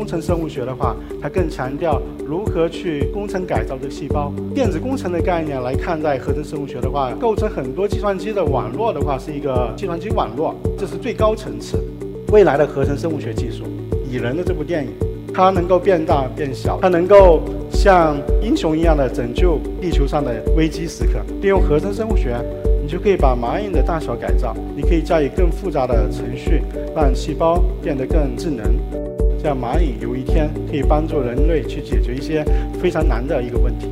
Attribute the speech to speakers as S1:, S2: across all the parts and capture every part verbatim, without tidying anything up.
S1: 工程生物学的话，它更强调如何去工程改造这个细胞。电子工程的概念来看待合成生物学的话，构成很多计算机的网络的话，是一个计算机网络，这是最高层次。未来的合成生物学技术，蚁人的这部电影，它能够变大变小，它能够像英雄一样的拯救地球上的危机时刻。利用合成生物学，你就可以把蚂蚁的大小改造，你可以加以更复杂的程序，让细胞变得更智能。这样蚂蚁有一天可以帮助人类去解决一些非常难的一个问题。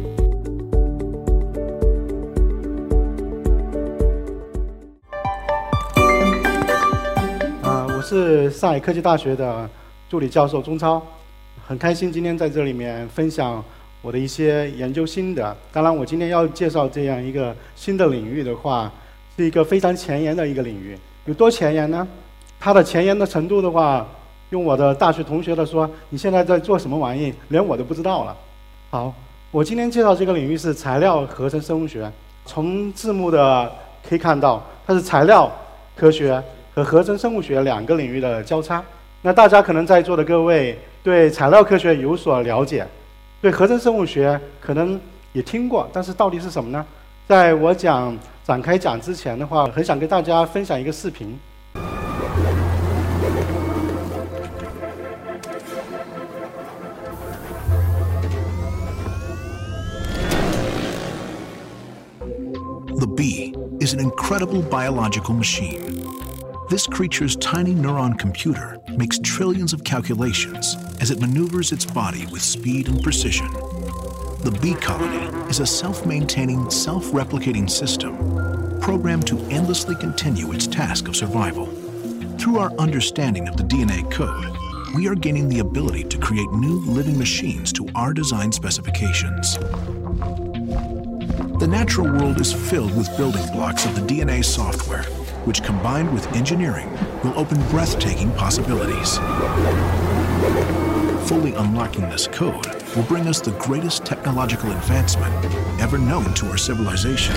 S1: 啊、呃，我是上海科技大学的助理教授钟超，很开心今天在这里面分享我的一些研究心得。当然，我今天要介绍这样一个新的领域的话，是一个非常前沿的一个领域。有多前沿呢？它的前沿的程度的话，用我的大学同学的说，你现在在做什么玩意，连我都不知道了。好，我今天介绍这个领域是材料合成生物学。从字幕的可以看到，它是材料科学和合成生物学两个领域的交叉。那大家可能在座的各位对材料科学有所了解，对合成生物学可能也听过，但是到底是什么呢？在我讲展开讲之前的话，很想跟大家分享一个视频。
S2: The bee is an incredible biological machine. This creature's tiny neuron computer makes trillions of calculations as it maneuvers its body with speed and precision. The bee colony is a self-maintaining, self-replicating system programmed to endlessly continue its task of survival. Through our understanding of the D N A code, we are gaining the ability to create new living machines to our design specifications. The natural world is filled with building blocks of the D N A software, which combined with engineering will open breathtaking possibilities. Fully unlocking this code will bring us the greatest technological advancement ever known to our civilization.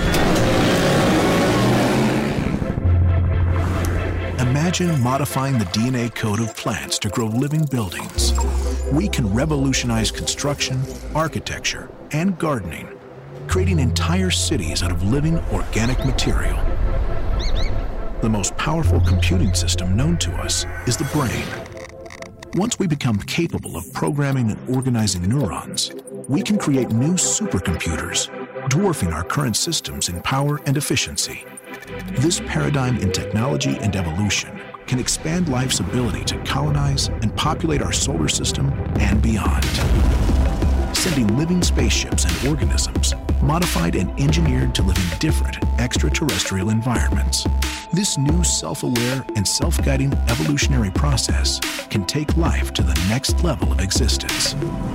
S2: Imagine modifying the D N A code of plants to grow living buildings. We can revolutionize construction, architecture, and gardening, creating entire cities out of living organic material. The most powerful computing system known to us is the brain. Once we become capable of programming and organizing neurons, we can create new supercomputers, dwarfing our current systems in power and efficiency. This paradigm in technology and evolution can expand life's ability to colonize and populate our solar system and beyond. Sending living spaceships and organisms modified and engineered to live in different extraterrestrial environments. This new self-aware and self-guiding evolutionary process can take life to the next level of existence.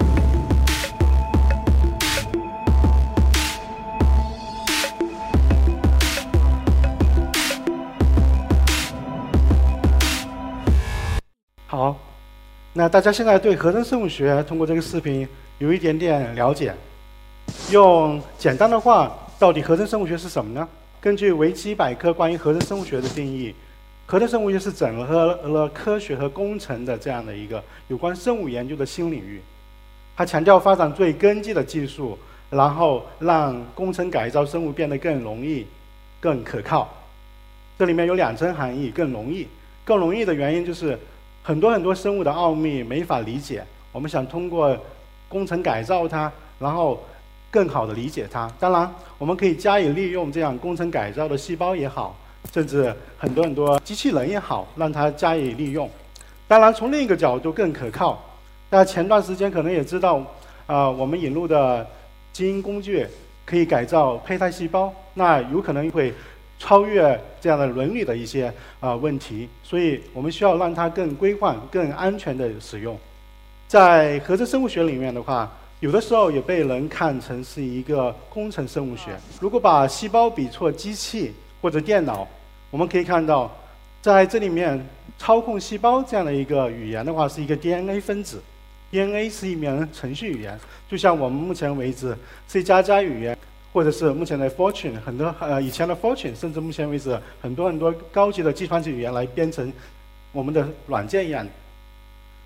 S1: 好，那大家现在对合成生物学通过这个视频有一点点了解。用简单的话，到底合成生物学是什么呢？根据维基百科关于合成生物学的定义，合成生物学是整合了科学和工程的这样的一个有关生物研究的新领域。它强调发展最根基的技术，然后让工程改造生物变得更容易、更可靠。这里面有两层含义：更容易。更容易的原因就是很多很多生物的奥秘没法理解，我们想通过工程改造它，然后更好的理解它。当然，我们可以加以利用这样工程改造的细胞也好，甚至很多很多机器人也好，让它加以利用。当然，从另一个角度更可靠。大家前段时间可能也知道，啊、呃，我们引入的基因工具可以改造胚胎细胞，那有可能会超越这样的伦理的一些啊、呃、问题，所以我们需要让它更规范、更安全的使用。在合成生物学里面的话，有的时候也被人看成是一个工程生物学。如果把细胞比作机器或者电脑，我们可以看到，在这里面操控细胞这样的一个语言的话，是一个 D N A 分子。D N A 是一门程序语言，就像我们目前为止 C 加加语言，或者是目前的 Fortran 很多呃以前的 Fortran， 甚至目前为止很多很多高级的计算机语言来编程我们的软件一样。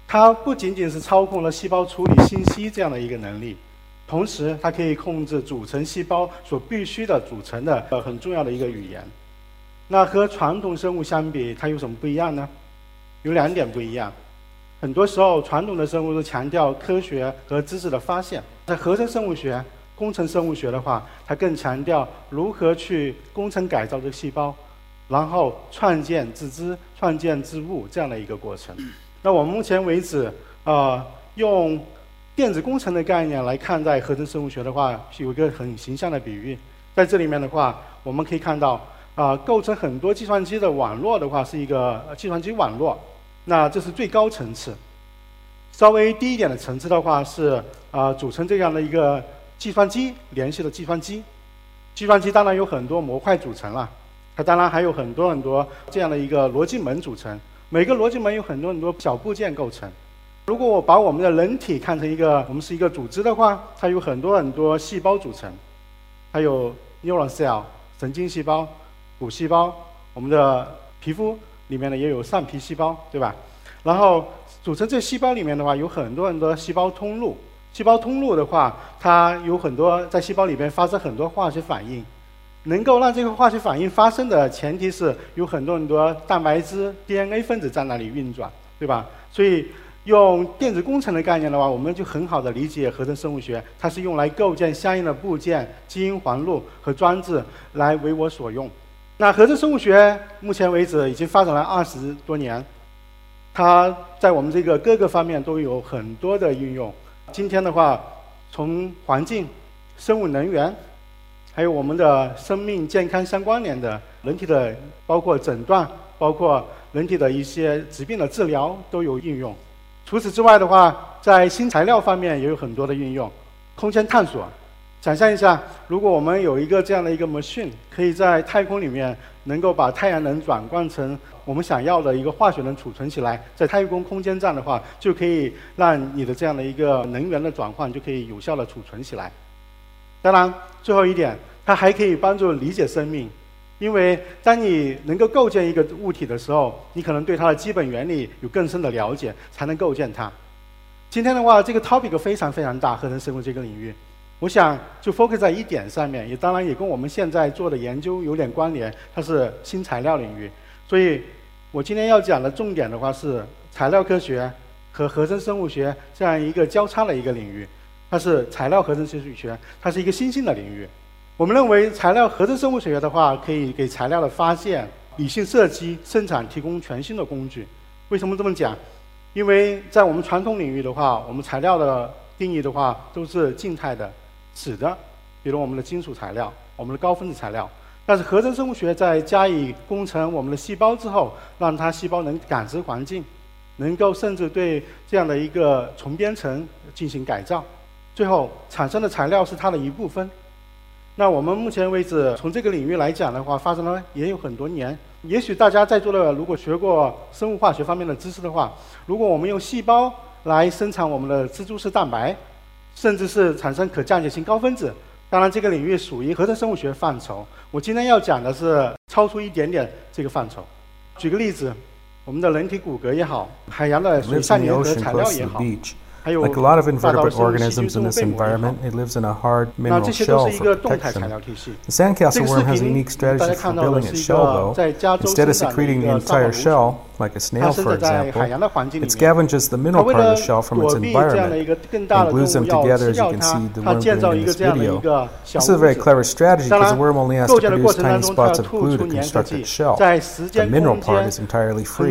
S1: 它不仅仅是操控了细胞处理信息这样的一个能力，同时它可以控制组成细胞所必须的组成的呃很重要的一个语言。那和传统生物相比，它有什么不一样呢？有两点不一样。很多时候，传统的生物是强调科学和知识的发现，在合成生物学、工程生物学的话，它更强调如何去工程改造这个细胞，然后创建自知、创建自悟这样的一个过程。那我们目前为止，呃，用电子工程的概念来看待合成生物学的话，有一个很形象的比喻。在这里面的话，我们可以看到，啊、呃，构成很多计算机的网络的话，是一个计算机网络。那这是最高层次。稍微低一点的层次的话是，啊、呃，组成这样的一个计算机联系的计算机。计算机当然有很多模块组成了，它当然还有很多很多这样的一个逻辑门组成。每个逻辑门有很多很多小部件构成。如果我把我们的人体看成一个，我们是一个组织的话，它有很多很多细胞组成，它有 neuron cell 神经细胞、骨细胞，我们的皮肤里面呢也有上皮细胞，对吧？然后组成这细胞里面的话，有很多很多细胞通路。细胞通路的话，它有很多在细胞里面发生很多化学反应。能够让这个化学反应发生的前提是有很多很多蛋白质 D N A 分子在那里运转，对吧？所以用电子工程的概念的话，我们就很好的理解合成生物学，它是用来构建相应的部件、基因环路和装置来为我所用。那合成生物学目前为止已经发展了二十多年，它在我们这个各个方面都有很多的应用。今天的话，从环境、生物能源，还有我们的生命健康相关联的人体的，包括诊断，包括人体的一些疾病的治疗都有应用。除此之外的话，在新材料方面也有很多的应用。空间探索，想象一下，如果我们有一个这样的一个 machine， 可以在太空里面能够把太阳能转换成我们想要的一个化学能储存起来，在太空空间站的话，就可以让你的这样的一个能源的转换就可以有效的储存起来。当然，最后一点，它还可以帮助理解生命，因为当你能够构建一个物体的时候，你可能对它的基本原理有更深的了解，才能构建它。今天的话，这个 topic 非常非常大，合成生物这个领域，我想就 focus 在一点上面，也当然也跟我们现在做的研究有点关联，它是新材料领域。所以我今天要讲的重点的话是材料科学和合成生物学这样一个交叉的一个领域。它是材料合成生物学，它是一个新兴的领域。我们认为材料合成生物学的话，可以给材料的发现、理性设计、生产提供全新的工具。为什么这么讲？因为在我们传统领域的话，我们材料的定义的话都是静态的、死的，比如我们的金属材料、我们的高分子材料。但是合成生物学在加以工程我们的细胞之后，让它细胞能感知环境，能够甚至对这样的一个重编程进行改造。最后产生的材料是它的一部分。那我们目前为止，从这个领域来讲的话，发生了也有很多年。也许大家在座的如果学过生物化学方面的知识的话，如果我们用细胞来生产我们的蜘蛛丝蛋白，甚至是产生可降解性高分子，当然这个领域属于合成生物学范畴。我今天要讲的是超出一点点这个范畴。举个例子，我们的人体骨骼也好，海洋的水上联合材料也好。
S3: Like a lot of invertebrate organisms in this environment, it lives in a hard mineral shell for protection. The sandcastle worm has a unique strategy for building its shell, though. Instead of secreting the entire shell, like a snail, for example, it scavenges the mineral part of the shell from its environment and glues them together, as you can see the worm doing in this video. This is a very clever strategy because the worm only has to produce tiny spots of glue to construct its shell. The mineral part is entirely free.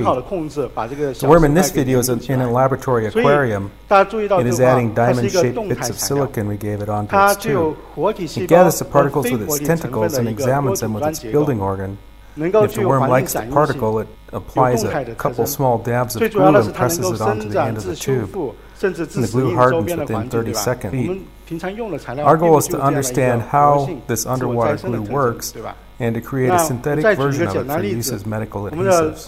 S3: The worm in this video is in a laboratory aquarium. It is adding diamond-shaped bits of silicon we gave it onto its tube. It gathers the particles with its tentacles and examines them with its building organ. If the worm likes the particle, it applies a couple small dabs of glue and presses it onto the end of the tube. And the glue hardens within thirty seconds. Our goal is to understand how this underwater glue works and to create a synthetic version of it for use as medical adhesives.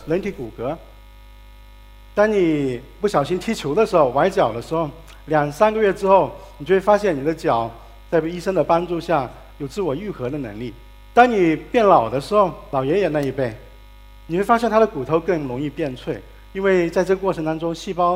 S1: 当你不小心踢球的时候，崴脚的时候，两三个月之后，你就会发现你的脚在医生的帮助下有自我愈合的能力。当你变老的时候，老爷爷那一辈，你会发现他的骨头更容易变脆，因为在这个过程当中，细胞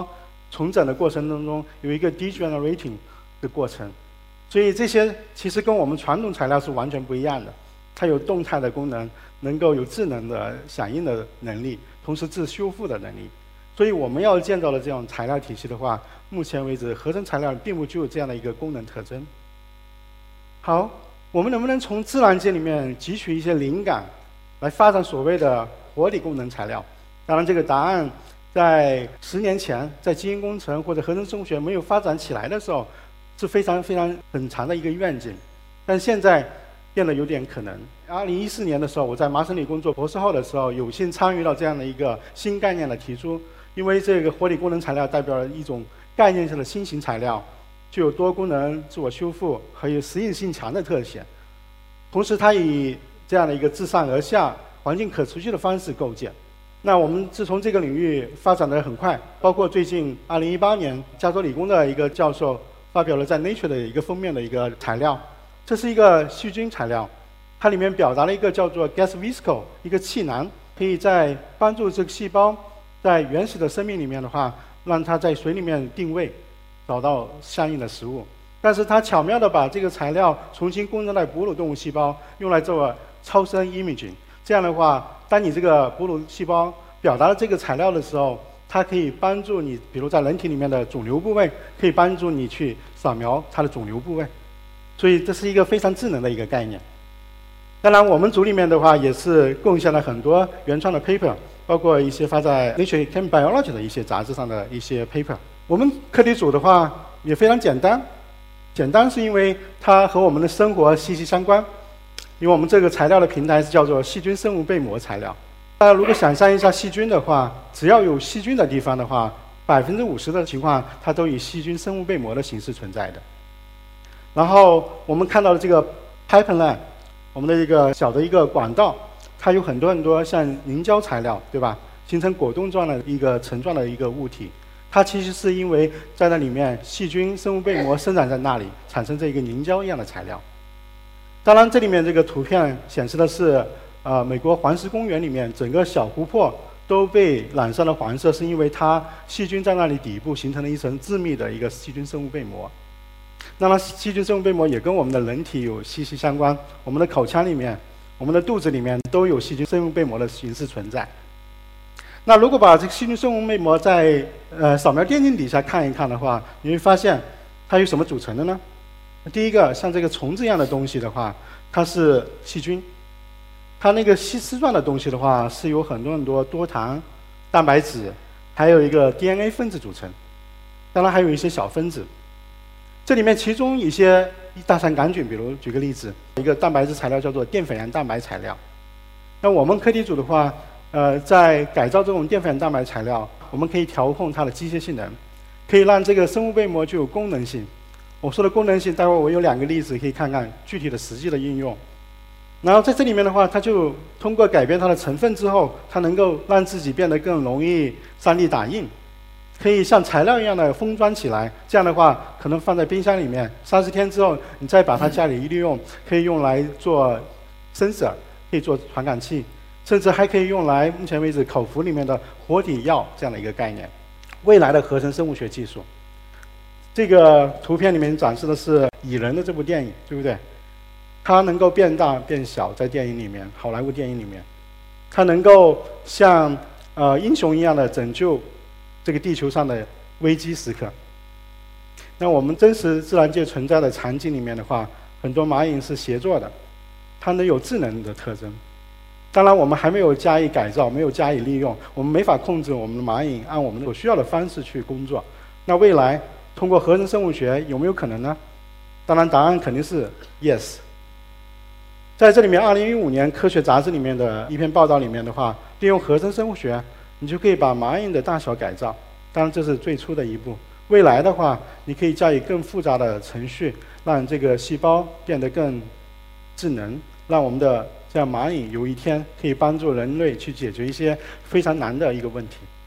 S1: 重整的过程当中有一个 degenerating 的过程。所以这些其实跟我们传统材料是完全不一样的，它有动态的功能，能够有智能的响应的能力，同时自修复的能力。所以我们要建造的这种材料体系的话，目前为止合成材料并不具有这样的一个功能特征。好，我们能不能从自然界里面汲取一些灵感，来发展所谓的活理功能材料？当然，这个答案在十年前，在基因工程或者合成生物学没有发展起来的时候，是非常非常很长的一个愿景，但现在变得有点可能。二零一四年的时候，我在麻省理工做博士后的时候，有幸参与到这样的一个新概念的提出。因为这个活理功能材料代表了一种概念性的新型材料，具有多功能、自我修复和有适应性强的特点。同时，它以这样的一个自上而下、环境可持续的方式构建。那我们自从这个领域发展得很快，包括最近二零一八年，加州理工的一个教授发表了在 Nature 的一个封面的一个材料，这是一个细菌材料，它里面表达了一个叫做 gas visco 一个气囊，可以在帮助这个细胞在原始的生命里面的话，让它在水里面定位，找到相应的食物。但是它巧妙地把这个材料重新供应在哺乳动物细胞，用来做超声 imaging。这样的话，当你这个哺乳细胞表达了这个材料的时候，它可以帮助你，比如在人体里面的肿瘤部位，可以帮助你去扫描它的肿瘤部位。所以这是一个非常智能的一个概念。当然，我们组里面的话也是贡献了很多原创的 paper， 包括一些发在 Nature Chem Biology 的一些杂志上的一些 paper。我们课题组的话也非常简单，简单是因为它和我们的生活息息相关。因为我们这个材料的平台是叫做细菌生物被膜材料。大家如果想象一下细菌的话，只要有细菌的地方的话，百分之五十的情况它都以细菌生物被膜的形式存在的。然后我们看到的这个 pipeline， 我们的一个小的一个管道，它有很多很多像凝胶材料，对吧？形成果冻状的一个层状的一个物体，它其实是因为在那里面细菌生物被膜生长在那里，产生这一个凝胶一样的材料。当然，这里面这个图片显示的是，呃，美国黄石公园里面整个小湖泊都被染上了黄色，是因为它细菌在那里底部形成了一层致密的一个细菌生物被膜。那么细菌生物被膜也跟我们的人体有息息相关，我们的口腔里面、我们的肚子里面都有细菌生物被膜的形式存在。那如果把这个细菌生物被膜在呃扫描电镜底下看一看的话，你会发现它由什么组成的呢？第一个，像这个虫子一样的东西的话，它是细菌；它那个细丝状的东西的话，是由很多很多多糖、蛋白质，还有一个 D N A 分子组成。当然还有一些小分子。这里面其中一些大肠杆菌，比如举个例子，一个蛋白质材料叫做淀粉样蛋白材料。那我们课题组的话，呃，在改造这种淀粉样蛋白材料，我们可以调控它的机械性能，可以让这个生物被膜具有功能性。我说的功能性，待会儿我有两个例子可以看看具体的实际的应用。然后在这里面的话，它就通过改变它的成分之后，它能够让自己变得更容易 三 D 打印，可以像材料一样的封装起来。这样的话，可能放在冰箱里面，三十天之后，你再把它家里一利用，可以用来做 sensor， 可以做传感器，甚至还可以用来目前为止口服里面的活体药这样的一个概念。未来的合成生物学技术。这个图片里面展示的是《蚁人》的这部电影，对不对？它能够变大变小，在电影里面，好莱坞电影里面，它能够像呃英雄一样的拯救这个地球上的危机时刻。那我们真实自然界存在的场景里面的话，很多蚂蚁是协作的，它能有智能的特征。当然，我们还没有加以改造，没有加以利用，我们没法控制我们的蚂蚁按我们所需要的方式去工作。那未来通过合成生物学有没有可能呢？当然，答案肯定是 yes。在这里面，二零一五年科学杂志里面的一篇报道里面的话，利用合成生物学，你就可以把蚂蚁的大小改造。当然，这是最初的一步。未来的话，你可以加以更复杂的程序，让这个细胞变得更智能，让我们的这样蚂蚁有一天可以帮助人类去解决一些非常难的一个问题。